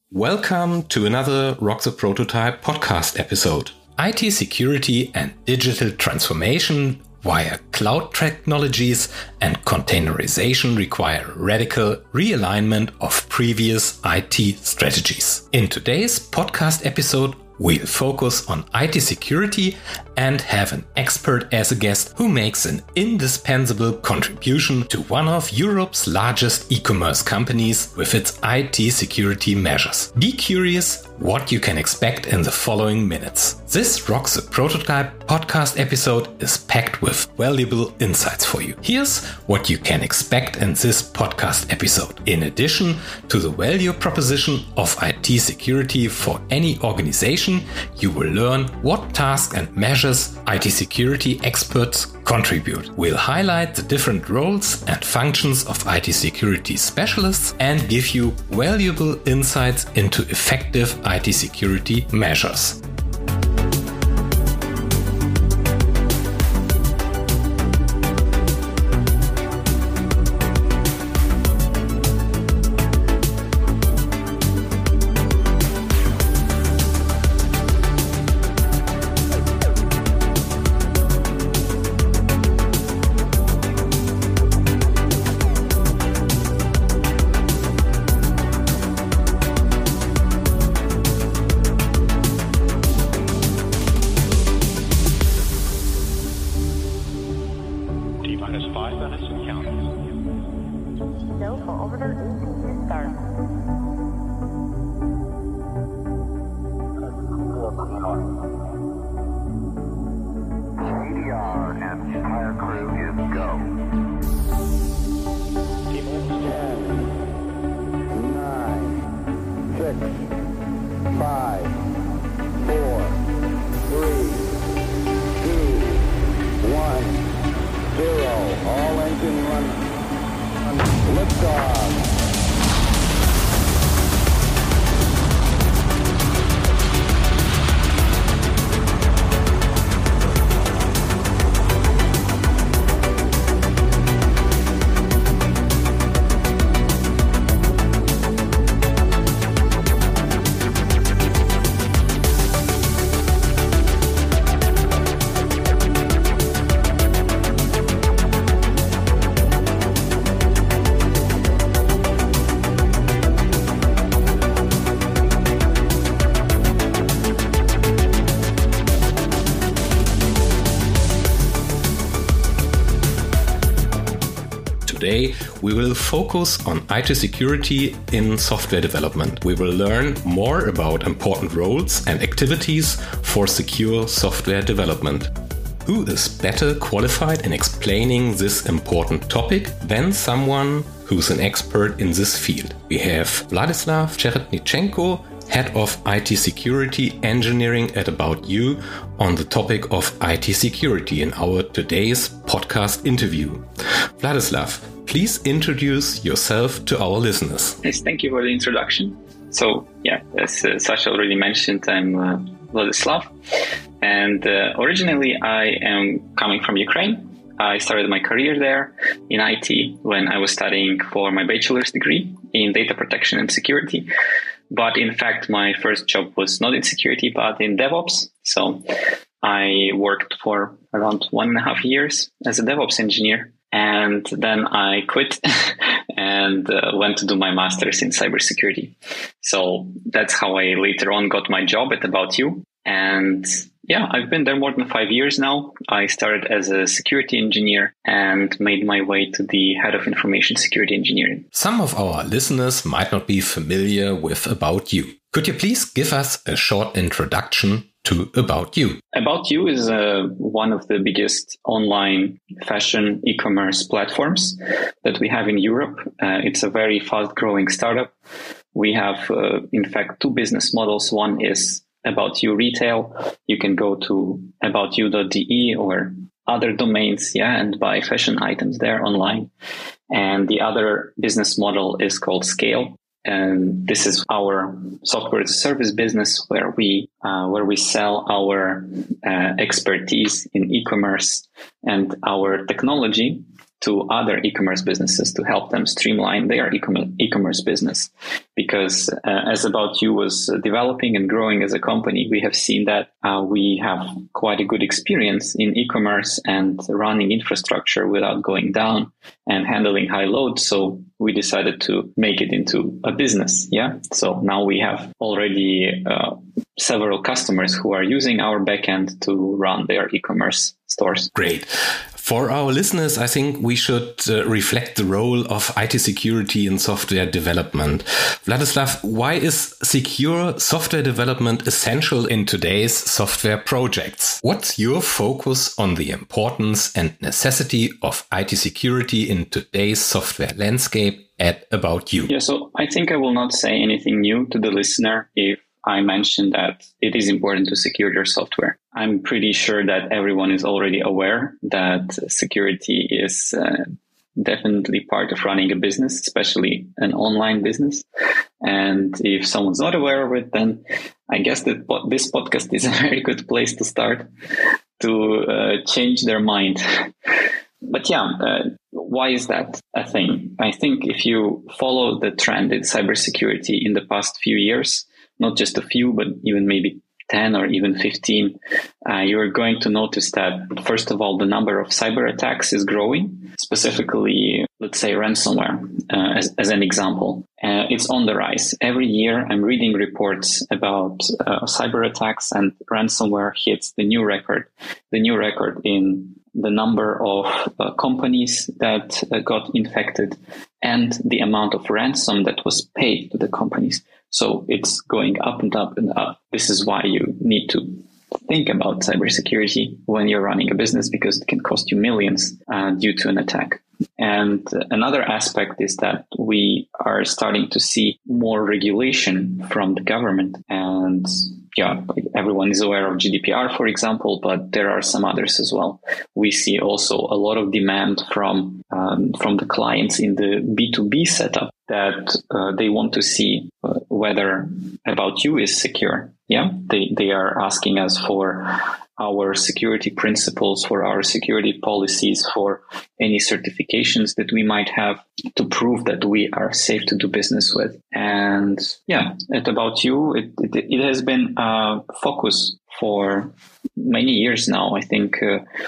Welcome to another Rock the Prototype podcast episode. IT security and digital transformation via cloud technologies and containerization require radical realignment of previous IT strategies. In today's podcast episode, we'll focus on IT security and have an expert as a guest who makes an indispensable contribution to one of Europe's largest e-commerce companies with its IT security measures. Be curious what you can expect in the following minutes. This Rock the Prototype podcast episode is packed with valuable insights for you. Here's what you can expect in this podcast episode. In addition to the value proposition of IT security for any organization, you will learn what tasks and measures IT security experts contribute. We'll highlight the different roles and functions of IT security specialists and give you valuable insights into effective IT security measures. Today, we will focus on IT security in software development. We will learn more about important roles and activities for secure software development. Who is better qualified in explaining this important topic than someone who's an expert in this field? We have Vladislav Cheretnichenko, Head of IT Security Engineering at About You, on the topic of IT security in our today's podcast interview. Vladislav, please introduce yourself to our listeners. Yes, thank you for the introduction. So, as Sasha already mentioned, I'm Vladislav, and originally I am coming from Ukraine. I started my career there in IT when I was studying for my bachelor's degree in data protection and security. But in fact, my first job was not in security, but in DevOps. So I worked for around 1.5 years as a DevOps engineer. And then I quit and went to do my master's in cybersecurity. So that's how I later on got my job at About You. And I've been there more than 5 years now. I started as a security engineer and made my way to the head of information security engineering. Some of our listeners might not be familiar with About You. Could you please give us a short introduction to About You? About You is one of the biggest online fashion e-commerce platforms that we have in Europe. It's a very fast-growing startup. We have, in fact, two business models. One is About You Retail. You can go to aboutyou.de or other domains, and buy fashion items there online. And the other business model is called Scale. And this is our software as a service business where we sell our expertise in e-commerce and our technology to other e-commerce businesses to help them streamline their e-commerce business. Because as About You was developing and growing as a company, we have seen that we have quite a good experience in e-commerce and running infrastructure without going down and handling high load. So we decided to make it into a business. Yeah. So now we have already several customers who are using our backend to run their e-commerce stores. Great. For our listeners, I think we should reflect the role of IT security in software development. Vladislav, why is secure software development essential in today's software projects? What's your focus on the importance and necessity of IT security in today's software landscape at About You? Yeah, so I think I will not say anything new to the listener if I mentioned that it is important to secure your software. I'm pretty sure that everyone is already aware that security is definitely part of running a business, especially an online business. And if someone's not aware of it, then I guess that this podcast is a very good place to start to change their mind. But why is that a thing? I think if you follow the trend in cybersecurity in the past few years, not just a few, but even maybe 10 or even 15, you're going to notice that, first of all, the number of cyber attacks is growing, specifically, let's say, ransomware, as an example. It's on the rise. Every year, I'm reading reports about cyber attacks, and ransomware hits the new record in the number of companies that got infected and the amount of ransom that was paid to the companies. So it's going up and up and up. This is why you need to think about cybersecurity when you're running a business, because it can cost you millions due to an attack. And another aspect is that we are starting to see more regulation from the government. And everyone is aware of GDPR, for example, but there are some others as well. We see also a lot of demand from the clients in the B2B setup that they want to see whether About You is secure. Yeah, they are asking us for our security principles, for our security policies, for any certifications that we might have to prove that we are safe to do business with. And at About You, it has been a focus for many years now. I think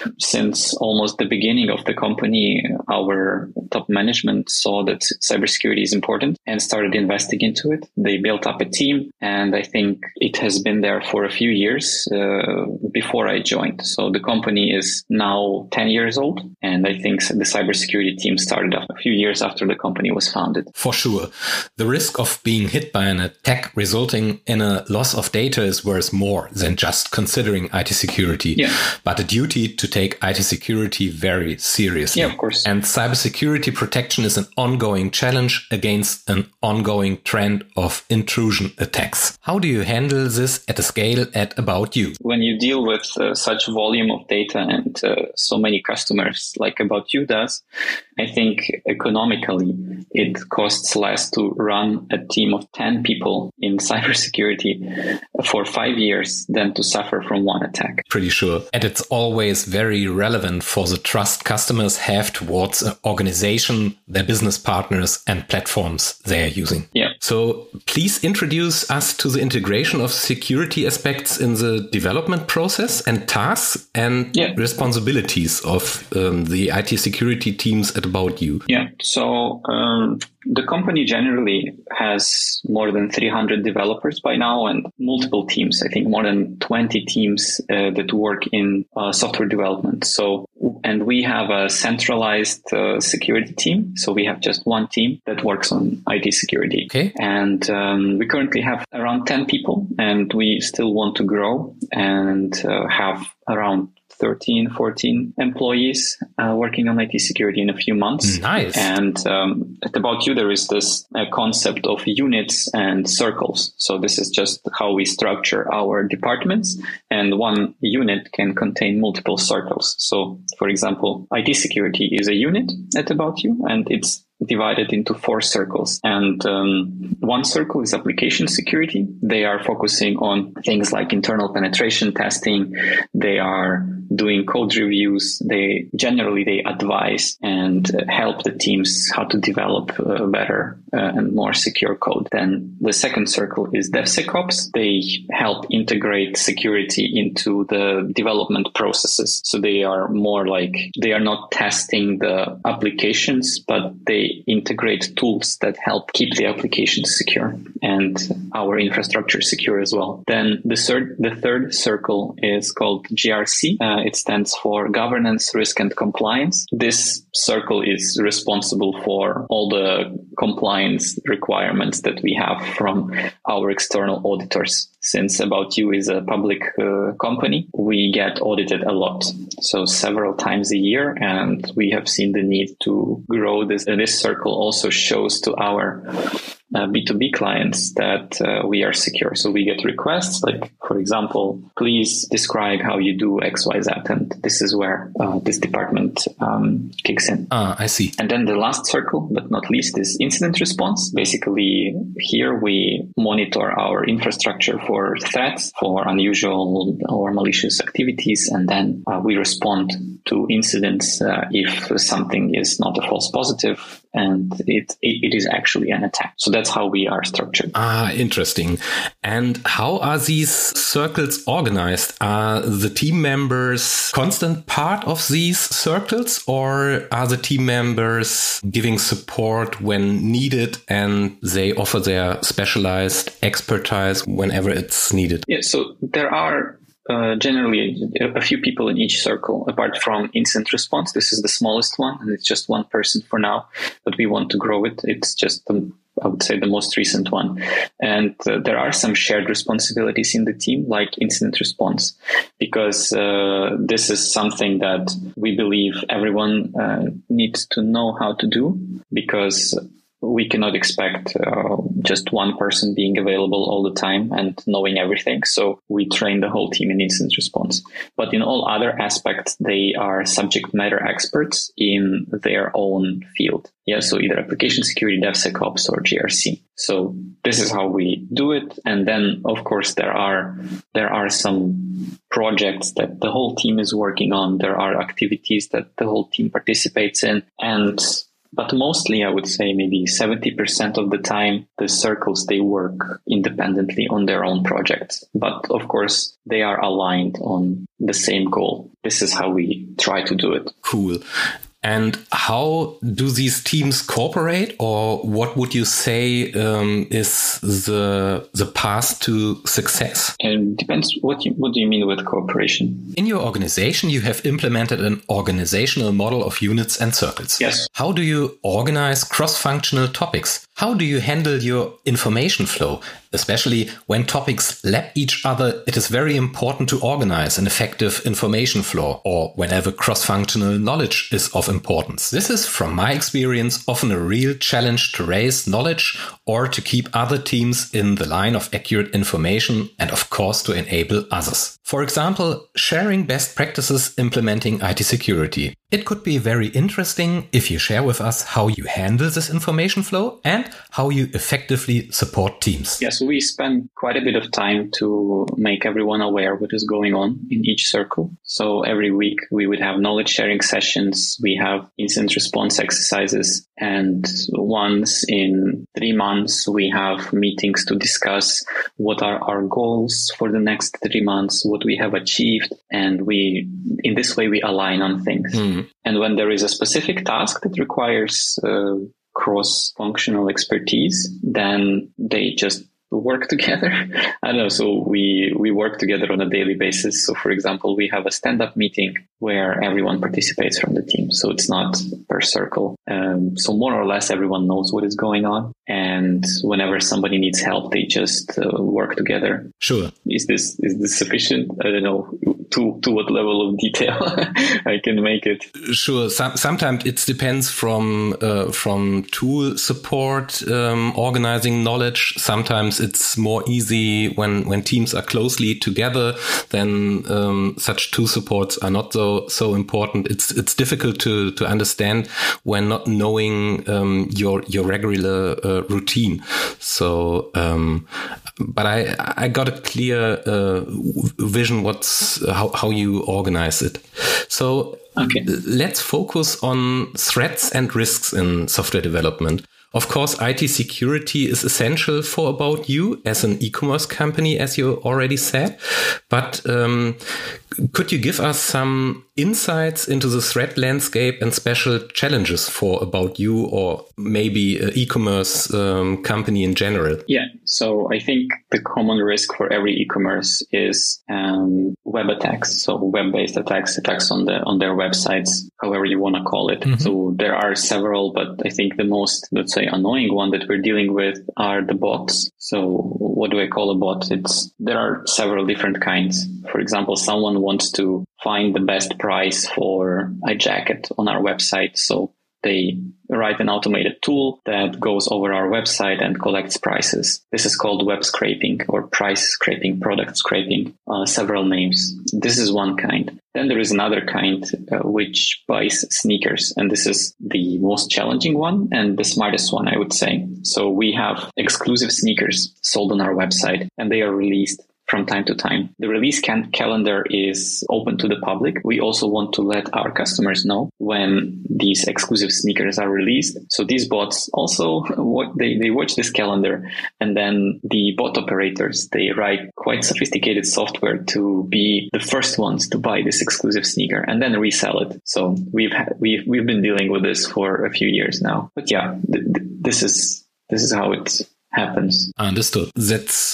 since almost the beginning of the company, our top management saw that cybersecurity is important and started investing into it. They built up a team, and I think it has been there for a few years before I joined. So the company is now 10 years old, and I think the cybersecurity team started a few years after the company was founded. For sure. The risk of being hit by an attack resulting in a loss of data is worth more than just considering IT security, but a duty to take IT security very seriously. Yeah, of course. And cybersecurity protection is an ongoing challenge against an ongoing trend of intrusion attacks. How do you handle this at a scale at About You? When you deal with such volume of data and so many customers like About You does, I think economically it costs less to run a team of 10 people in cybersecurity for 5 years than to suffer from one attack. Pretty sure. And it's always very relevant for the trust customers have towards an organization, their business partners, and platforms they are using. Yeah. So please introduce us to the integration of security aspects in the development process and tasks and responsibilities of the IT security teams at About You. Yeah. So the company generally has more than 300 developers by now and multiple teams. I think more than 20 teams that work in software development. And we have a centralized security team. So we have just one team that works on IT security. Okay. And we currently have around 10 people, and we still want to grow and have around 13, 14 employees working on IT security in a few months. Nice. And at About You, there is this concept of units and circles. So this is just how we structure our departments. And one unit can contain multiple circles. So, for example, IT security is a unit at About You, and it's divided into 4 circles. And one circle is application security. They are focusing on things like internal penetration testing. They are doing code reviews. They advise and help the teams how to develop better and more secure code. Then the second circle is DevSecOps. They help integrate security into the development processes. So they are more like, they are not testing the applications, but they integrate tools that help keep the applications secure and our infrastructure secure as well. Then the third circle is called GRC. It stands for Governance, Risk and Compliance. This circle is responsible for all the compliance requirements that we have from our external auditors. Since About You is a public company, we get audited a lot, so several times a year, and we have seen the need to grow this. This circle also shows to our B2B clients that we are secure. So we get requests like, for example, please describe how you do XYZ. And this is where this department kicks in. I see. And then the last circle, but not least, is incident response. Basically, here we monitor our infrastructure for threats, for unusual or malicious activities, and then we respond to incidents if something is not a false positive and it is actually an attack. So that's how we are structured. Interesting. And how are these circles organized? Are the team members constant part of these circles, or are the team members giving support when needed and they offer their specialized expertise whenever it's needed? Yeah, so there are generally a few people in each circle, apart from incident response. This is the smallest one, and it's just one person for now, but we want to grow it. It's just I would say the most recent one. And there are some shared responsibilities in the team, like incident response, because this is something that we believe everyone needs to know how to do, because we cannot expect just one person being available all the time and knowing everything. So we train the whole team in incident response. But in all other aspects, they are subject matter experts in their own field. Yeah, so either application security, DevSecOps, or GRC. So this is how we do it. And then, of course, there are some projects that the whole team is working on. There are activities that the whole team participates in. But mostly, I would say maybe 70% of the time, the circles, they work independently on their own projects. But of course, they are aligned on the same goal. This is how we try to do it. Cool. And how do these teams cooperate, or what would you say is the path to success? It depends. What do you mean with cooperation? In your organization, you have implemented an organizational model of units and circles. Yes. How do you organize cross-functional topics? How do you handle your information flow? Especially when topics lap each other, it is very important to organize an effective information flow, or whenever cross-functional knowledge is of importance. This is, from my experience, often a real challenge to raise knowledge or to keep other teams in the line of accurate information, and of course to enable others. For example, sharing best practices implementing IT security. It could be very interesting if you share with us how you handle this information flow and how you effectively support teams. Yeah, so we spend quite a bit of time to make everyone aware what is going on in each circle. So every week we would have knowledge sharing sessions, we have incident response exercises, and once in 3 months we have meetings to discuss what are our goals for the next 3 months, what we have achieved, and in this way we align on things. And when there is a specific task that requires cross-functional expertise, then they just work together. I don't know. So we work together on a daily basis. So for example, we have a stand-up meeting where everyone participates from the team. So it's not per circle. So more or less everyone knows what is going on. And whenever somebody needs help, they just work together. Sure. Is this sufficient? I don't know to what level of detail I can make it. Sure. Sometimes it depends from tool support, organizing knowledge. Sometimes it's more easy when teams are closely together. Then such tool supports are not so important. It's difficult to understand when not knowing your regular routine. So but I got a clear vision how you organize it. So let's focus on threats and risks in software development. Of course, IT security is essential for About You as an e-commerce company, as you already said. But could you give us some insights into the threat landscape and special challenges for About You, or maybe an e-commerce company in general? Yeah, so I think the common risk for every e-commerce is web attacks. So web-based attacks on their websites, however you want to call it. Mm-hmm. So there are several, but I think the most, let's say, annoying one that we're dealing with are the bots. So what do I call a bot? There are several different kinds. For example, someone wants to find the best price for a jacket on our website. So they write an automated tool that goes over our website and collects prices. This is called web scraping or price scraping, product scraping, several names. This is one kind. Then there is another kind which buys sneakers. And this is the most challenging one and the smartest one, I would say. So we have exclusive sneakers sold on our website and they are released from time to time. The release calendar is open to the public. We also want to let our customers know when these exclusive sneakers are released. So these bots also, they watch this calendar, and then the bot operators, they write quite sophisticated software to be the first ones to buy this exclusive sneaker and then resell it. So we've been dealing with this for a few years now. But yeah, this is how it happens. Understood. That's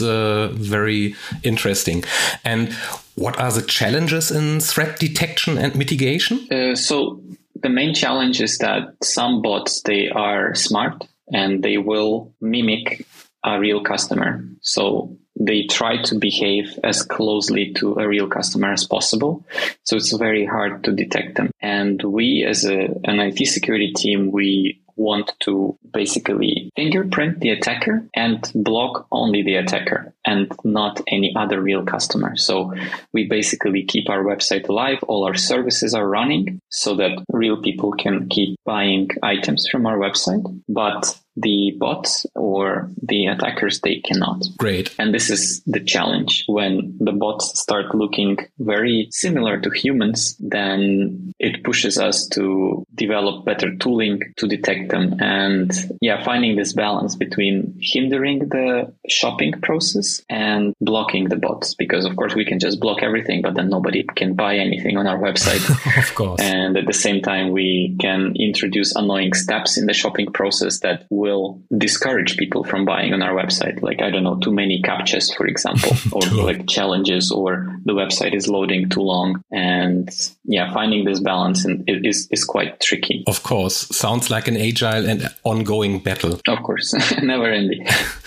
very interesting. And what are the challenges in threat detection and mitigation? So the main challenge is that some bots, they are smart and they will mimic a real customer. So they try to behave as closely to a real customer as possible. So it's very hard to detect them. And we as an IT security team, we want to basically fingerprint the attacker and block only the attacker and not any other real customer. So we basically keep our website alive. All our services are running so that real people can keep buying items from our website, but the bots or the attackers, they cannot. Great. And this is the challenge. When the bots start looking very similar to humans, then it pushes us to develop better tooling to detect them. And finding this balance between hindering the shopping process and blocking the bots. Because of course we can just block everything, but then nobody can buy anything on our website. Of course. And at the same time, we can introduce annoying steps in the shopping process that will discourage people from buying on our website. Like, I don't know, too many captchas, for example, or like challenges, or the website is loading too long. And finding this balance is quite tricky. Of course. Sounds like an agile and ongoing battle. Of course. Never ending.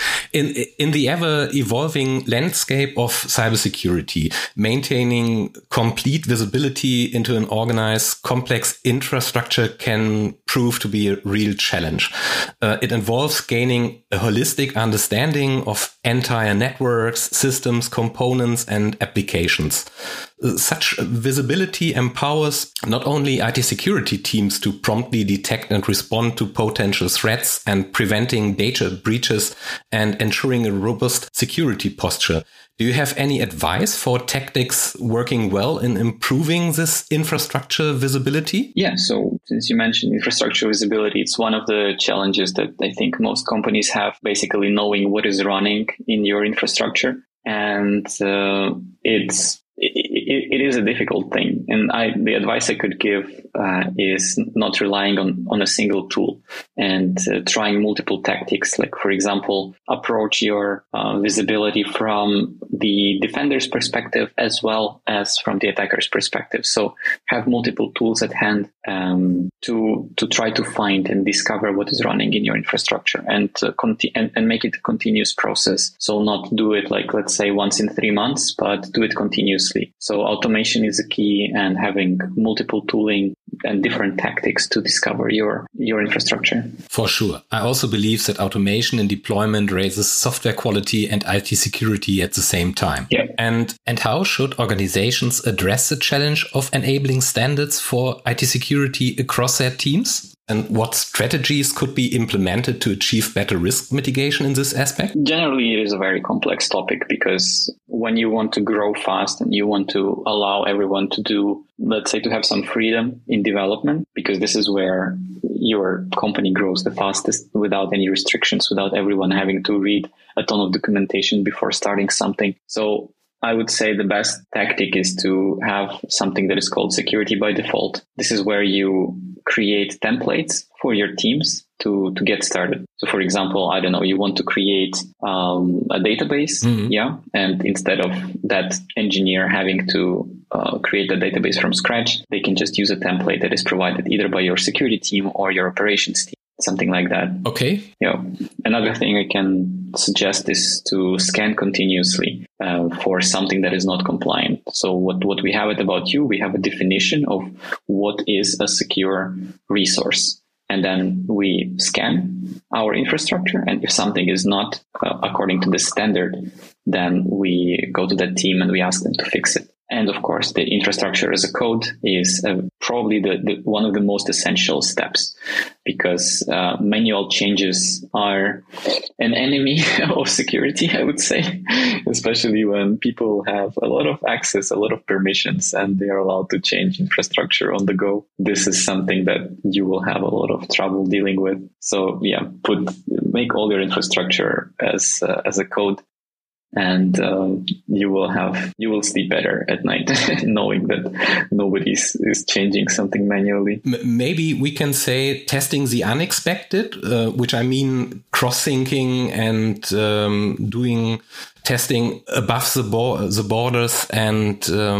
In the ever-evolving landscape of cybersecurity, maintaining complete visibility into an organized, complex infrastructure can prove to be a real challenge. It involves gaining a holistic understanding of entire networks, systems, components, and applications. Such visibility empowers not only IT security teams to promptly detect and respond to potential threats and preventing data breaches and ensuring a robust security posture. Do you have any advice for tactics working well in improving this infrastructure visibility? Yeah, so since you mentioned infrastructure visibility, it's one of the challenges that I think most companies have, basically knowing what is running in your infrastructure. And it is a difficult thing. And the advice I could give is not relying on a single tool and trying multiple tactics. Like, for example, approach your visibility from the defender's perspective as well as from the attacker's perspective. So have multiple tools at hand to try to find and discover what is running in your infrastructure and make it a continuous process. So not do it like, let's say, once in 3 months, but do it continuously. So automation is a key, and having multiple tooling and different tactics to discover your infrastructure. For sure. I also believe that automation in deployment raises software quality and IT security at the same time. Yeah. And how should organizations address the challenge of enabling standards for IT security across their teams? And what strategies could be implemented to achieve better risk mitigation in this aspect? Generally, it is a very complex topic because when you want to grow fast and you want to allow everyone to do, let's say, to have some freedom in development, because this is where your company grows the fastest without any restrictions, without everyone having to read a ton of documentation before starting something. So I would say the best tactic is to have something that is called security by default. This is where you create templates for your teams to get started. So for example, I don't know, you want to create a database. Yeah. And instead of that engineer having to create a database from scratch, they can just use a template that is provided either by your security team or your operations team. Something like that. Okay. Yeah. Another thing I can suggest is to scan continuously for something that is not compliant. So what we have at About You, we have a definition of what is a secure resource. And then we scan our infrastructure. And if something is not according to the standard, then we go to that team and we ask them to fix it. And of course, the infrastructure as a code is probably the one of the most essential steps, because manual changes are an enemy of security, I would say, especially when people have a lot of access, a lot of permissions, and they are allowed to change infrastructure on the go. This is something that you will have a lot of trouble dealing with. So yeah, make all your infrastructure as a code. And you will sleep better at night knowing that nobody is changing something manually. Maybe we can say testing the unexpected, which I mean cross-syncing and doing testing above the borders and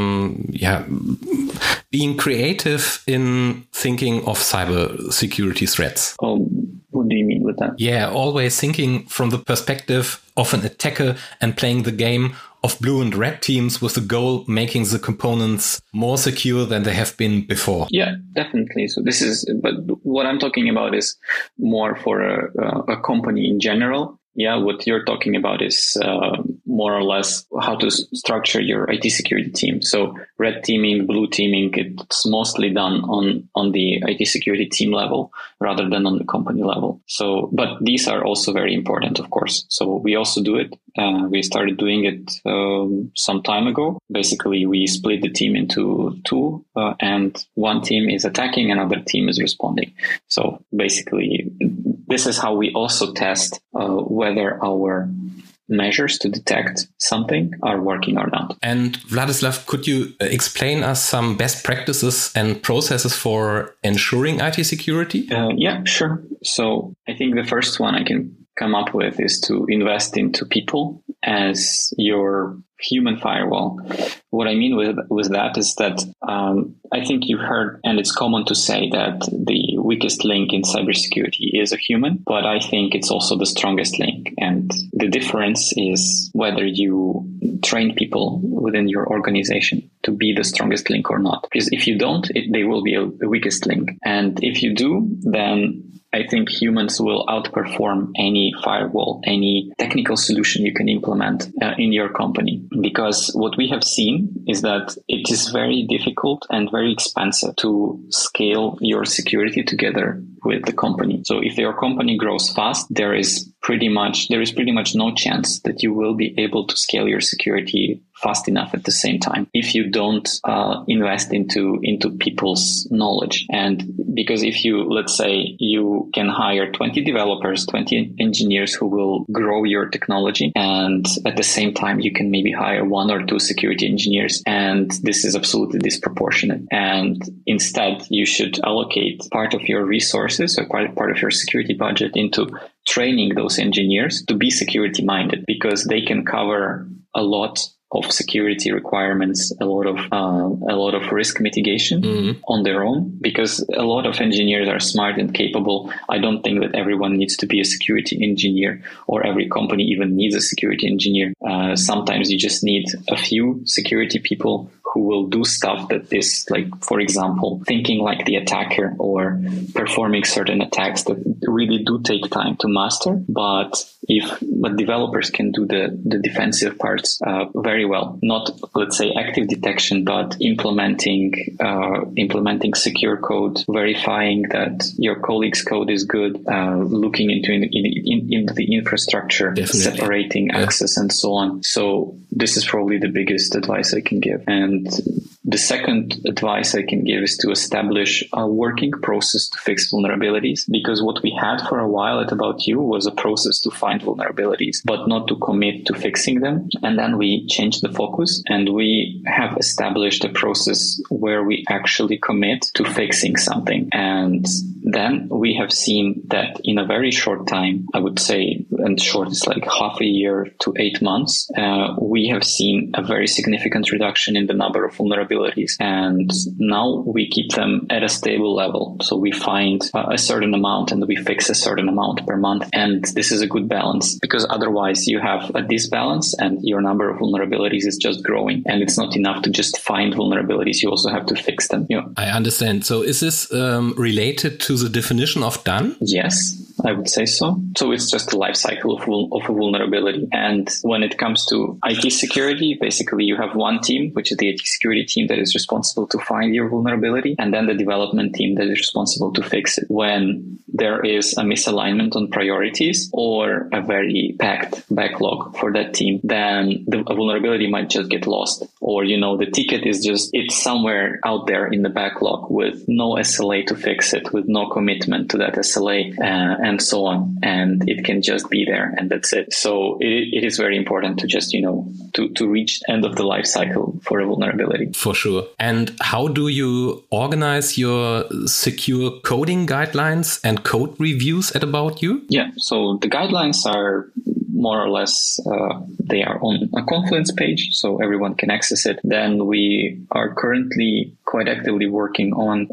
being creative in thinking of cyber security threats. What do you mean with that? Yeah, always thinking from the perspective of an attacker and playing the game of blue and red teams with the goal making the components more secure than they have been before. Yeah, definitely. So but what I'm talking about is more for a company in general. Yeah, what you're talking about is more or less how to structure your IT security team. So red teaming, blue teaming, it's mostly done on the IT security team level rather than on the company level. So, but these are also very important, of course. So we also do it. We started doing it some time ago. Basically, we split the team into two, and one team is attacking, another team is responding. So basically, this is how we also test whether our measures to detect something are working or not. And Vladislav, could you explain us some best practices and processes for ensuring IT security? Yeah, sure. So I think the first one I can come up with is to invest into people as your human firewall. What I mean with that is that I think you've heard, and it's common to say that the weakest link in cybersecurity is a human, but I think it's also the strongest link. And the difference is whether you train people within your organization to be the strongest link or not. Because if you don't, they will be the weakest link. And if you do, then I think humans will outperform any firewall, any technical solution you can implement in your company. Because what we have seen is that it is very difficult and very expensive to scale your security together with the company. So if your company grows fast, there is pretty much no chance that you will be able to scale your security fast enough at the same time if you don't invest into people's knowledge. And because if you, let's say, you can hire 20 developers, 20 engineers who will grow your technology, and at the same time you can maybe hire 1 or 2 security engineers, and this is absolutely disproportionate. And instead you should allocate part of your resources or part of your security budget into training those engineers to be security minded, because they can cover a lot of security requirements, a lot of risk mitigation on their own, because a lot of engineers are smart and capable. I don't think that everyone needs to be a security engineer, or every company even needs a security engineer. Sometimes you just need a few security people who will do stuff that is, like, for example, thinking like the attacker or performing certain attacks that really do take time to master, but but developers can do the defensive parts very well. Not, let's say, active detection, but implementing secure code, verifying that your colleague's code is good, looking into the infrastructure, Definitely. Separating access and so on. So this is probably the biggest advice I can give. And the second advice I can give is to establish a working process to fix vulnerabilities, because what we had for a while at About You was a process to find vulnerabilities, but not to commit to fixing them. And then we changed the focus, and we have established a process where we actually commit to fixing something. And then we have seen that in a very short time, I would say, and short is like half a year to 8 months, we have seen a very significant reduction in the number of vulnerabilities. And now we keep them at a stable level. So we find a certain amount and we fix a certain amount per month. And this is a good balance, because otherwise you have a disbalance and your number of vulnerabilities is just growing. And it's not enough to just find vulnerabilities. You also have to fix them. I understand. So is this related to the definition of done? Yes, I would say so. So it's just the life cycle of a vulnerability. And when it comes to IT security, basically you have one team, which is the IT security team that is responsible to find your vulnerability, and then the development team that is responsible to fix it. When there is a misalignment on priorities or a very packed backlog for that team, then a vulnerability might just get lost. Or, the ticket is it's somewhere out there in the backlog with no SLA to fix it, with no commitment to that SLA, and so on. And it can just be there, and that's it. So it is very important to just, to reach the end of the life cycle for a vulnerability. For sure. And how do you organize your secure coding guidelines and code reviews at About You? Yeah, so the guidelines are more or less, they are on a Confluence page, so everyone can access it. Then we are currently quite actively working on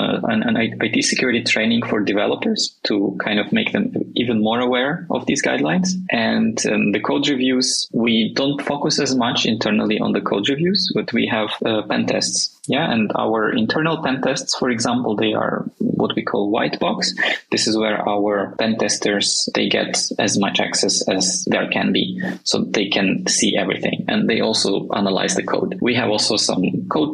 an IT security training for developers to kind of make them even more aware of these guidelines. And the code reviews, we don't focus as much internally on the code reviews, but we have pen tests. Yeah, and our internal pen tests, for example, they are what we call white box. This is where our pen testers, they get as much access as there can be. So they can see everything, and they also analyze the code. We have also some code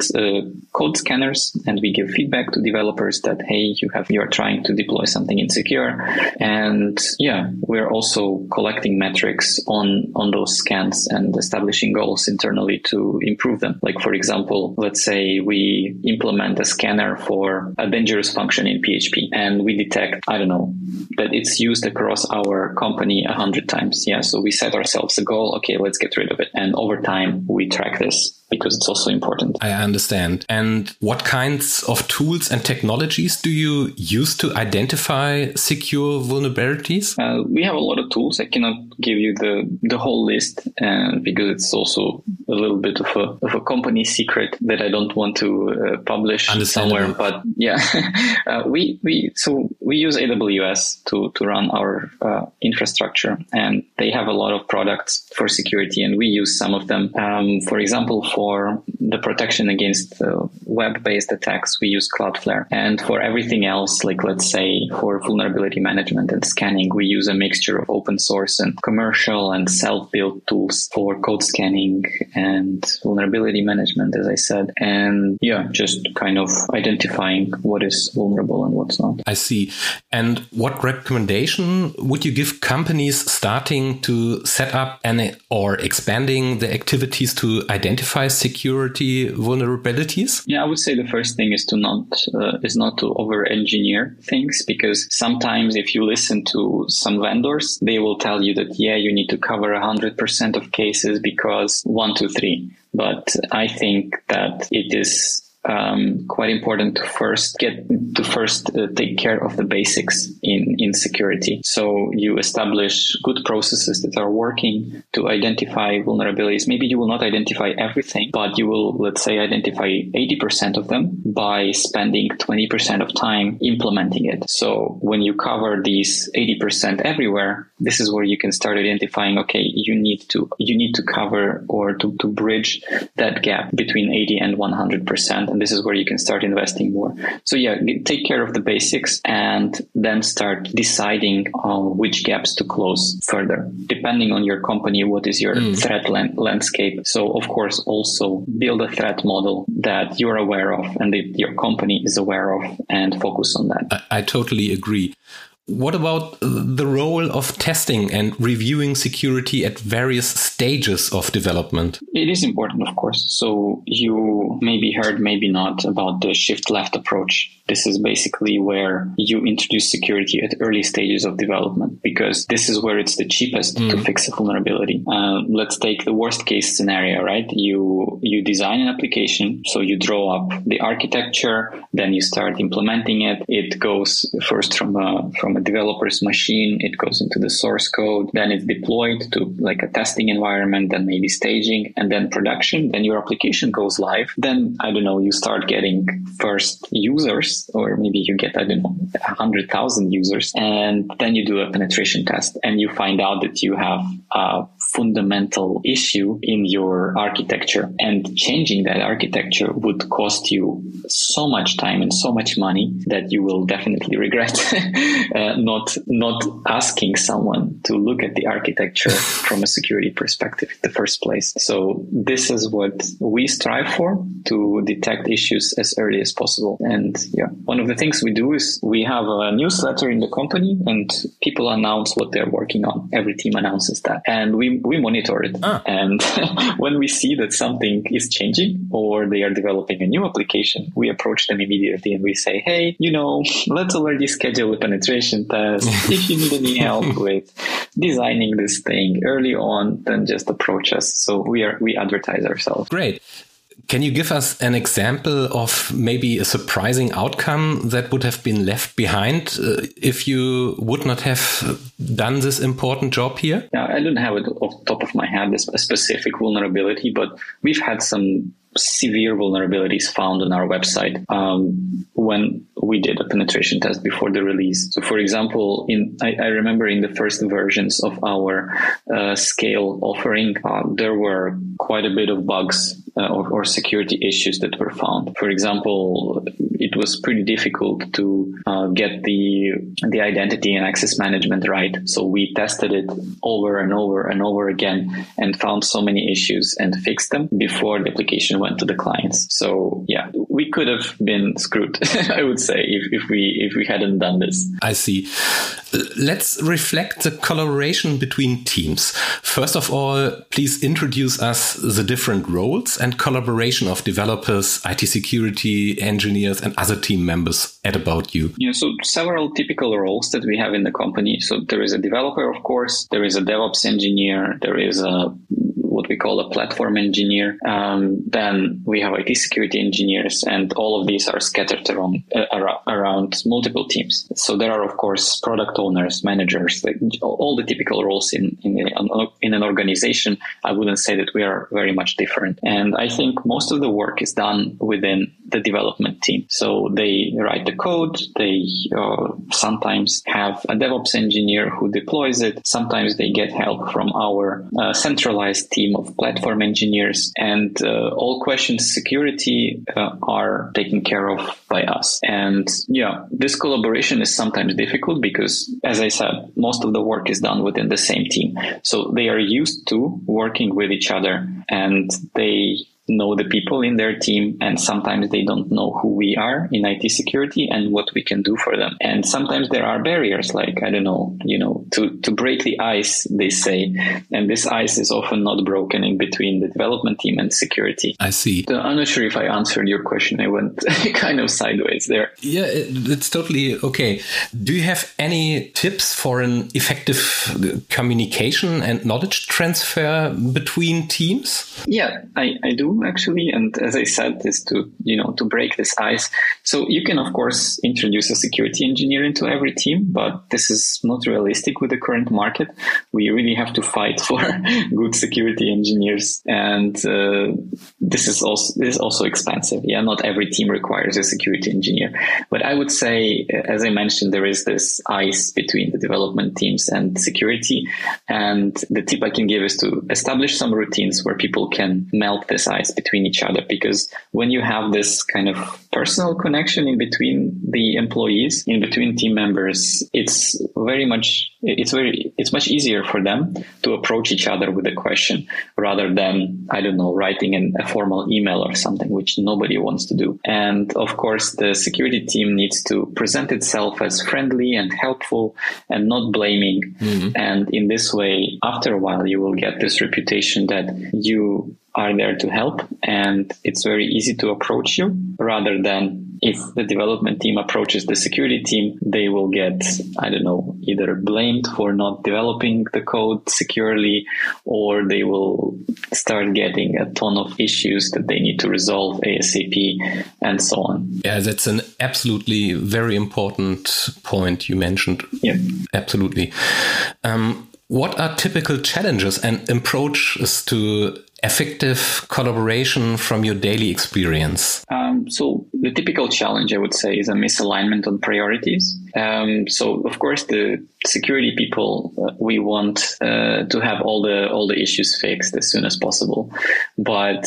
scanners, and we give feedback to developers that, hey, you are trying to deploy something insecure. And yeah, we're also collecting metrics on those scans and establishing goals internally to improve them. Like, for example, let's say we implement a scanner for a dangerous function in PHP, and we detect, that it's used across our company 100 times. Yeah. So we set ourselves a goal. Okay, let's get rid of it. And over time, we track this, because it's also important. I understand. And what kinds of tools and technologies do you use to identify secure vulnerabilities? We have a lot of tools. I cannot give you the whole list, because it's also a little bit of a company secret that I don't want to publish somewhere. But yeah, we use AWS to run our infrastructure, and they have a lot of products for security, and we use some of them. For example, for the protection against web-based attacks, we use Cloudflare. And for everything else, like let's say for vulnerability management and scanning, we use a mixture of open source and commercial and self-built tools for code scanning and vulnerability management, as I said. And yeah, just kind of identifying what is vulnerable and what's not. I see. And what recommendation would you give companies starting to set up or expanding the activities to identify security vulnerabilities? Yeah, I would say the first thing is not to over-engineer things, because sometimes if you listen to some vendors, they will tell you that, yeah, you need to cover 100% of cases because 1, 2, 3. But I think that it is quite important to first take care of the basics in security. So you establish good processes that are working to identify vulnerabilities. Maybe you will not identify everything, but you will, let's say, identify 80% of them by spending 20% of time implementing it. So when you cover these 80% everywhere, this is where you can start identifying, okay, you need to cover or to bridge that gap between 80 and 100%. And this is where you can start investing more. So yeah, take care of the basics and then start deciding which gaps to close further. Depending on your company, what is your threat landscape? So of course, also build a threat model that you're aware of and that your company is aware of, and focus on that. I totally agree. What about the role of testing and reviewing security at various stages of development? It is important, of course. So you maybe heard, maybe not, about the shift left approach. This is basically where you introduce security at early stages of development, because this is where it's the cheapest to fix a vulnerability. Let's take the worst case scenario, right? You design an application, so you draw up the architecture, then you start implementing it. It goes first from a developer's machine, it goes into the source code, then it's deployed to like a testing environment, then maybe staging, and then production. Then your application goes live. Then, I don't know, you start getting first users, or maybe you get, 100,000 users, and then you do a penetration test and you find out that you have a fundamental issue in your architecture, and changing that architecture would cost you so much time and so much money that you will definitely regret not asking someone to look at the architecture from a security perspective in the first place. So this is what we strive for, to detect issues as early as possible. And yeah, one of the things we do is we have a newsletter in the company, and people announce what they're working on. Every team announces that, and we monitor it. And when we see that something is changing or they are developing a new application, we approach them immediately and we say, hey, let's already schedule a penetration test. If you need any help with designing this thing early on, then just approach us. So we advertise ourselves. Great. Can you give us an example of maybe a surprising outcome that would have been left behind if you would not have done this important job here? Yeah, I don't have it off the top of my head, a specific vulnerability, but we've had some severe vulnerabilities found on our website when we did a penetration test before the release. So, for example, I remember in the first versions of our Scale offering, there were quite a bit of bugs or security issues that were found. For example, it was pretty difficult to get the identity and access management right. So we tested it over and over and over again and found so many issues and fixed them before the application went to the clients. So yeah, we could have been screwed, I would say, if we hadn't done this. I see. Let's reflect the collaboration between teams. First of all, please introduce us the different roles and collaboration of developers, IT security engineers, and other team members at About You. Yeah, so several typical roles that we have in the company. So there is a developer, of course, there is a DevOps engineer, there is what we call a platform engineer. Then we have IT security engineers, and all of these are scattered around multiple teams. So there are, of course, product owners, managers, like all the typical roles in an organization. I wouldn't say that we are very much different. And I think most of the work is done within the development team. So they write the code. They sometimes have a DevOps engineer who deploys it. Sometimes they get help from our centralized team of platform engineers, and all questions security are taken care of by us. And yeah, this collaboration is sometimes difficult because, as I said, most of the work is done within the same team. So they are used to working with each other, and they know the people in their team, and sometimes they don't know who we are in IT security and what we can do for them. And sometimes there are barriers, like, I don't know, to break the ice, they say, and this ice is often not broken in between the development team and security. I see. So I'm not sure if I answered your question. I went kind of sideways there. Yeah, it's totally okay. Do you have any tips for an effective communication and knowledge transfer between teams? Yeah, I do. Actually, and as I said, is to break this ice. So you can, of course, introduce a security engineer into every team, but this is not realistic with the current market. We really have to fight for good security engineers, and this is also expensive. Yeah, not every team requires a security engineer, but I would say, as I mentioned, there is this ice between the development teams and security, and the tip I can give is to establish some routines where people can melt this ice nice between each other, because when you have this kind of personal connection in between the employees, in between team members, it's much easier for them to approach each other with a question rather than, I don't know, writing a formal email or something, which nobody wants to do. And of course, the security team needs to present itself as friendly and helpful and not blaming. And in this way, after a while, you will get this reputation that you are there to help, and it's very easy to approach you, rather than if the development team approaches the security team, they will get, I don't know, either blamed for not developing the code securely, or they will start getting a ton of issues that they need to resolve ASAP, and so on. Yeah, that's an absolutely very important point you mentioned. Yeah. Absolutely. What are typical challenges and approaches to effective collaboration from your daily experience? So the typical challenge, I would say, is a misalignment on priorities. So of course, the security people, we want to have all the issues fixed as soon as possible. But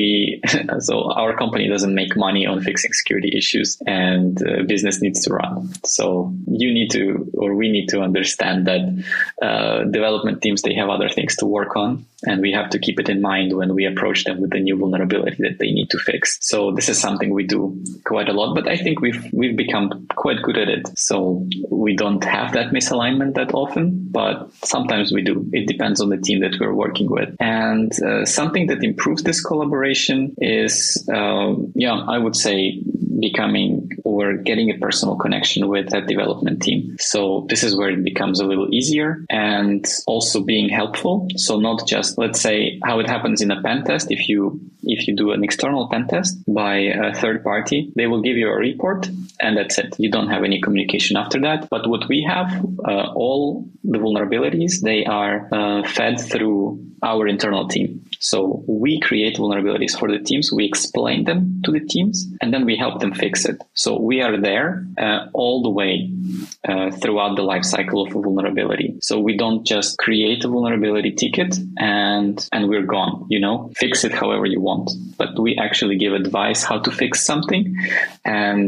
so our company doesn't make money on fixing security issues, and business needs to run. So we need to understand that development teams, they have other things to work on, and we have to keep it in mind when we approach them with the new vulnerability that they need to fix. So this is something we do quite a lot, but I think we've become quite good at it. So we don't have that misalignment that often, but sometimes we do. It depends on the team that we're working with. And something that improves this collaboration is, I would say, becoming or getting a personal connection with that development team. So this is where it becomes a little easier, and also being helpful. So not just, let's say, how it happens in a pen test. If you do an external pen test by a third party, they will give you a report, and that's it. You don't have any communication after that. But what we have, all the vulnerabilities, they are fed through our internal team. So we create vulnerabilities for the teams, we explain them to the teams, and then we help them fix it. So we are there all the way throughout the life cycle of a vulnerability. So we don't just create a vulnerability ticket and we're gone, fix it however you want. But we actually give advice how to fix something, and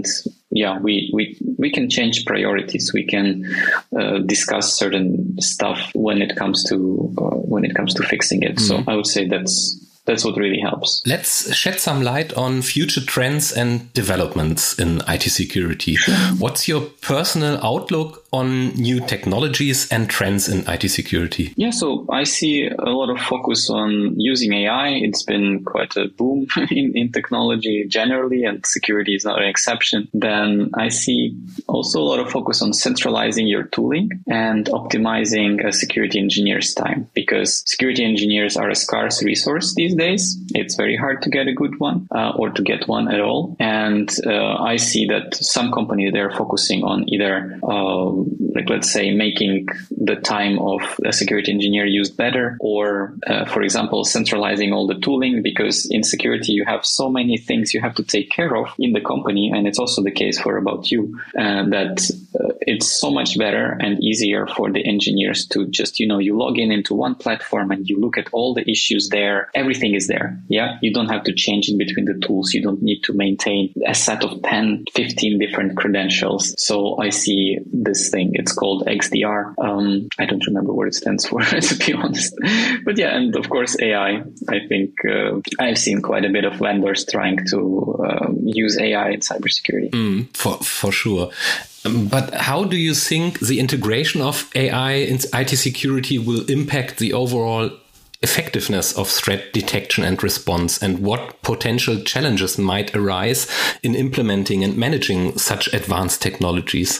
we can change priorities. We can discuss certain stuff when it comes to fixing it. So I would say that's what really helps. Let's shed some light on future trends and developments in IT security. Sure. What's your personal outlook on new technologies and trends in IT security? Yeah, so I see a lot of focus on using AI. It's been quite a boom in technology generally, and security is not an exception. Then I see also a lot of focus on centralizing your tooling and optimizing a security engineer's time, because security engineers are a scarce resource these days. It's very hard to get a good one or to get one at all. And I see that some companies, they're focusing on either let's say making the time of a security engineer used better, or for example, centralizing all the tooling, because in security you have so many things you have to take care of in the company, and it's also the case for About You, that it's so much better and easier for the engineers to just, you log into one platform and you look at all the issues there. Everything is there. Yeah. You don't have to change in between the tools. You don't need to maintain a set of 10, 15 different credentials. So I see this thing. It's called XDR. I don't remember what it stands for, to be honest. But yeah, and of course, AI. I think I've seen quite a bit of vendors trying to use AI in cybersecurity. For sure. But how do you think the integration of AI in IT security will impact the overall effectiveness of threat detection and response, and what potential challenges might arise in implementing and managing such advanced technologies?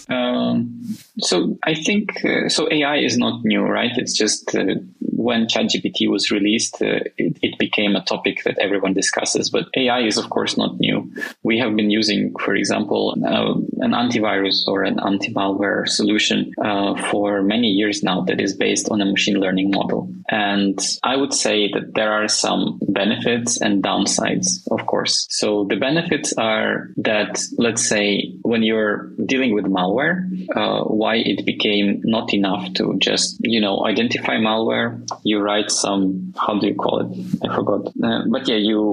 So I think, AI is not new, right? It's just when ChatGPT was released, it became a topic that everyone discusses. But AI is, of course, not new. We have been using, for example, an antivirus or an anti-malware solution for many years now that is based on a machine learning model. And I would say that there are some benefits and downsides, of course. So the benefits are that, let's say, when you're dealing with malware, why it became not enough to just, identify malware. You write some, how do you call it? I forgot. But yeah,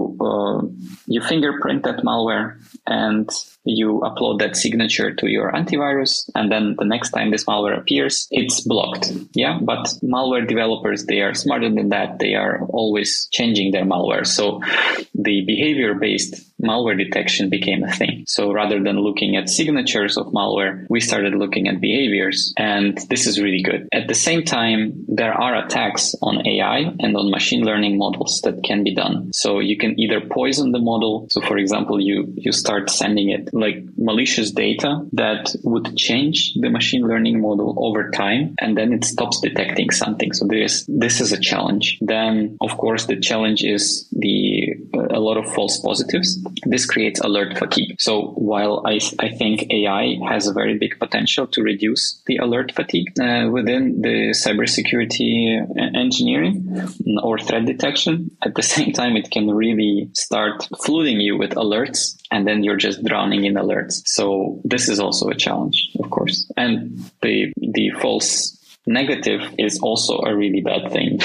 you fingerprint that malware and you upload that signature to your antivirus. And then the next time this malware appears, it's blocked. Yeah. But malware developers, they are smarter than that. They are always changing their malware. So the behavior-based malware detection became a thing. So rather than looking at signatures of malware, we started looking at behaviors. And this is really good. At the same time, there are attacks on AI and on machine learning models that can be done. So you can either poison the model. So for example, you start sending it like malicious data that would change the machine learning model over time, and then it stops detecting something. So this is a challenge. Then, of course, the challenge is a lot of false positives. This creates alert fatigue. So while I think AI has a very big potential to reduce the alert fatigue within the cybersecurity engineering or threat detection, at the same time, it can really start flooding you with alerts, and then you're just drowning in alerts. So this is also a challenge, of course. And the false negative is also a really bad thing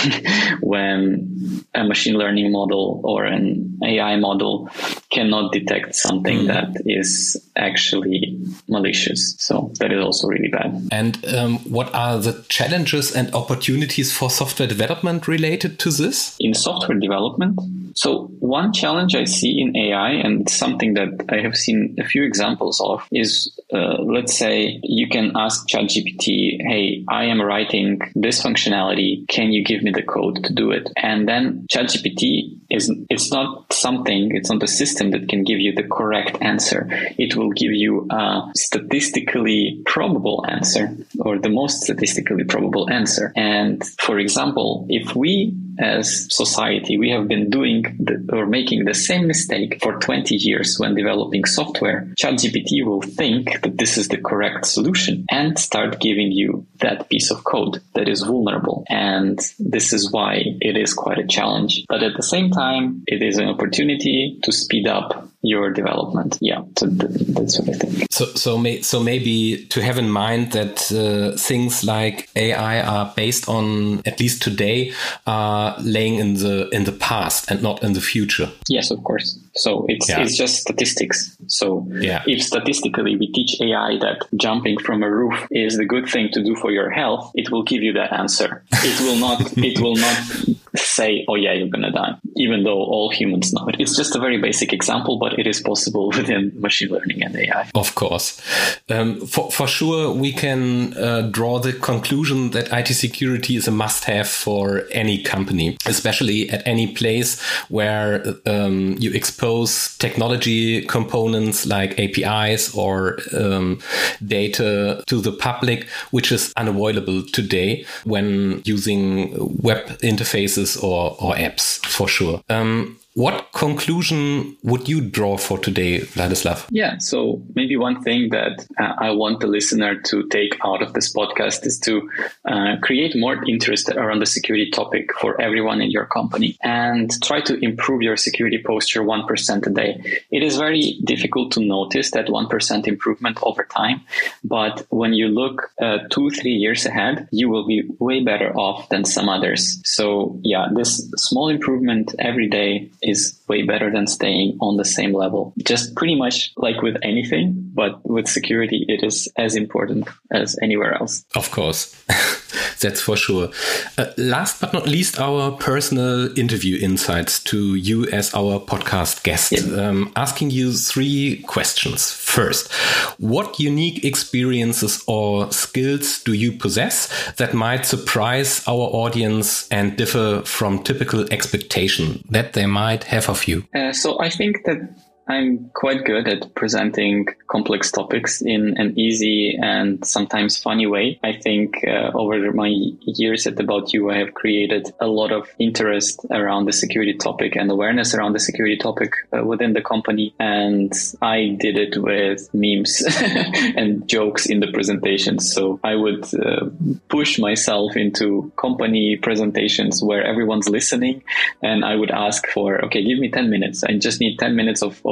when a machine learning model or an AI model cannot detect something that is actually malicious. So that is also really bad. And what are the challenges and opportunities for software development related to this? In software development, so one challenge I see in AI, and something that I have seen a few examples of, is let's say you can ask ChatGPT, hey, I am writing this functionality. Can you give me the code to do it? And then ChatGPT it's not a system that can give you the correct answer. It will give you a statistically probable answer, or the most statistically probable answer. And for example, if we as society, we have been doing or making the same mistake for 20 years when developing software, ChatGPT will think that this is the correct solution and start giving you that piece of code that is vulnerable. And this is why it is quite a challenge. But at the same time, it is an opportunity to speed up your development. Yeah, so that's what I think. So maybe to have in mind that things like AI are based on, at least today, laying in the past and not in the future. Yes, of course. So it's just statistics. So if statistically we teach AI that jumping from a roof is the good thing to do for your health, it will give you that answer. It will not say, oh yeah, you're gonna die, even though all humans know it. It's just a very basic example, but it is possible within machine learning and AI. Of course. For sure, we can draw the conclusion that IT security is a must-have for any company, especially at any place where you expose technology components like APIs or data to the public, which is unavoidable today when using web interfaces or apps, for sure. What conclusion would you draw for today, Vladislav? Yeah, so maybe one thing that I want the listener to take out of this podcast is to create more interest around the security topic for everyone in your company and try to improve your security posture 1% a day. It is very difficult to notice that 1% improvement over time, but when you look 2-3 years ahead, you will be way better off than some others. So yeah, this small improvement every day is way better than staying on the same level. Just pretty much like with anything, but with security, it is as important as anywhere else. Of course. That's for sure. Last but not least, our personal interview insights to you as our podcast guest. Yeah. Asking you 3 questions. First, what unique experiences or skills do you possess that might surprise our audience and differ from typical expectation that they might have of you? So I think that I'm quite good at presenting complex topics in an easy and sometimes funny way. I think over my years at About You, I have created a lot of interest around the security topic and awareness around the security topic within the company. And I did it with memes and jokes in the presentations. So I would push myself into company presentations where everyone's listening. And I would ask for, okay, give me 10 minutes. I just need 10 minutes of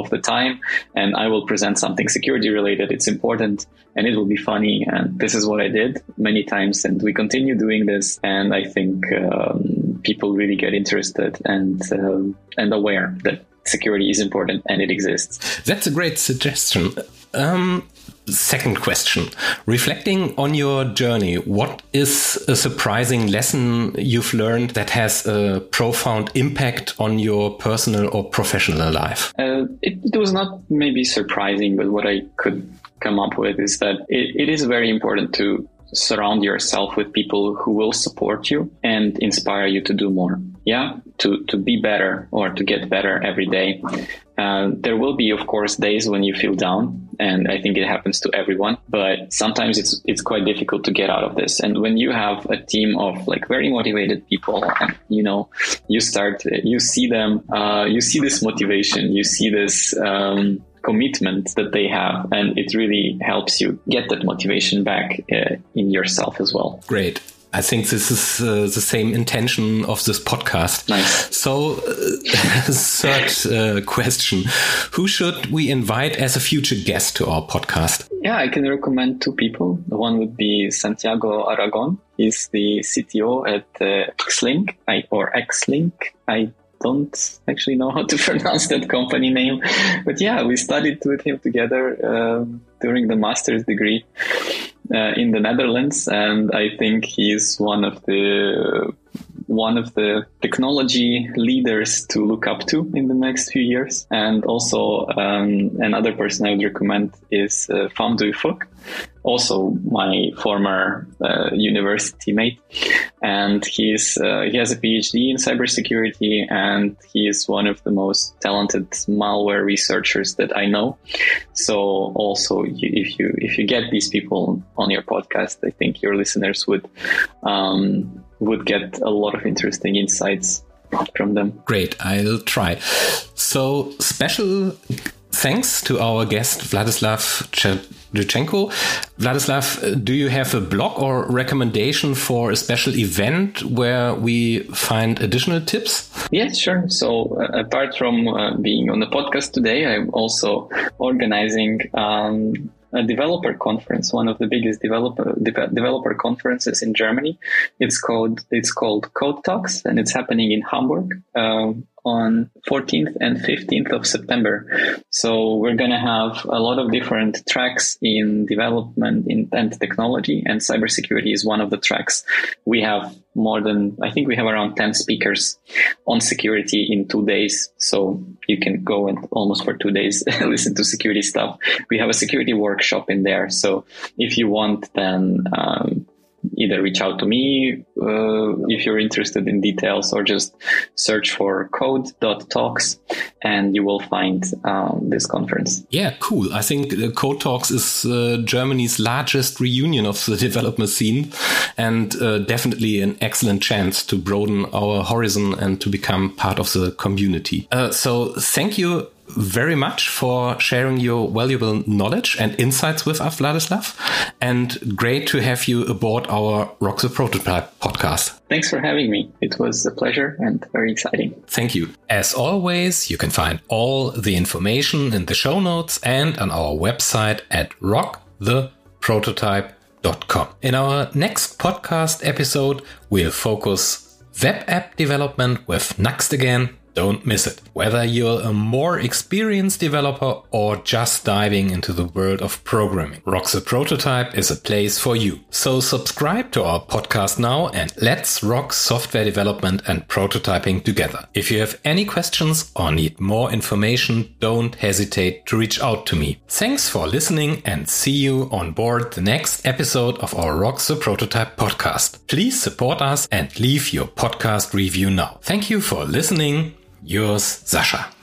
of the time, and I will present something security related. It's important and it will be funny. And this is what I did many times. And we continue doing this. And I think people really get interested and aware that security is important and it exists. That's a great suggestion. Second question. Reflecting on your journey, what is a surprising lesson you've learned that has a profound impact on your personal or professional life? It was not maybe surprising, but what I could come up with is that it is very important to surround yourself with people who will support you and inspire you to do more. Yeah, to be better or to get better every day. There will be, of course, days when you feel down, and I think it happens to everyone. But sometimes it's quite difficult to get out of this. And when you have a team of like very motivated people, and you see them, you see this motivation, you see this commitment that they have, and it really helps you get that motivation back in yourself as well. Great. I think this is the same intention of this podcast. Nice. So, third question. Who should we invite as a future guest to our podcast? Yeah, I can recommend two people. One would be Santiago Aragon. He's the CTO at Xlink. I don't actually know how to pronounce that company name. But yeah, we studied with him together during the master's degree in the Netherlands, and I think he's one of the technology leaders to look up to in the next few years. And also another person I would recommend is Pham Duy Phuc, also my former university mate, and he has a PhD in cybersecurity, and he is one of the most talented malware researchers that I know. So also, if you get these people on your podcast, I think your listeners would get a lot of interesting insights from them. Great, I'll try. So special thanks to our guest, Vladislav Chevchenko. Vladislav, do you have a blog or recommendation for a special event where we find additional tips? Yes, sure. So apart from being on the podcast today, I'm also organizing a developer conference, one of the biggest developer conferences in Germany. It's called Code Talks, and it's happening in Hamburg on 14th and 15th of September. So we're going to have a lot of different tracks in development and technology, and cybersecurity is one of the tracks. We have we have around 10 speakers on security in 2 days. So you can go and almost for 2 days listen to security stuff. We have a security workshop in there. So if you want, then either reach out to me if you're interested in details, or just search for code.talks and you will find this conference. Yeah, cool. I think Code Talks is Germany's largest reunion of the developer scene, and definitely an excellent chance to broaden our horizon and to become part of the community. So thank you very much for sharing your valuable knowledge and insights with us, Vladislav, and great to have you aboard our Rock the Prototype podcast. Thanks for having me. It was a pleasure and very exciting. Thank you. As always, you can find all the information in the show notes and on our website at rocktheprototype.com. In our next podcast episode, we'll focus web app development with Nuxt again. Don't miss it. Whether you're a more experienced developer or just diving into the world of programming, Rock the Prototype is a place for you. So subscribe to our podcast now and let's rock software development and prototyping together. If you have any questions or need more information, don't hesitate to reach out to me. Thanks for listening and see you on board the next episode of our Rock the Prototype podcast. Please support us and leave your podcast review now. Thank you for listening. Yours, Sascha.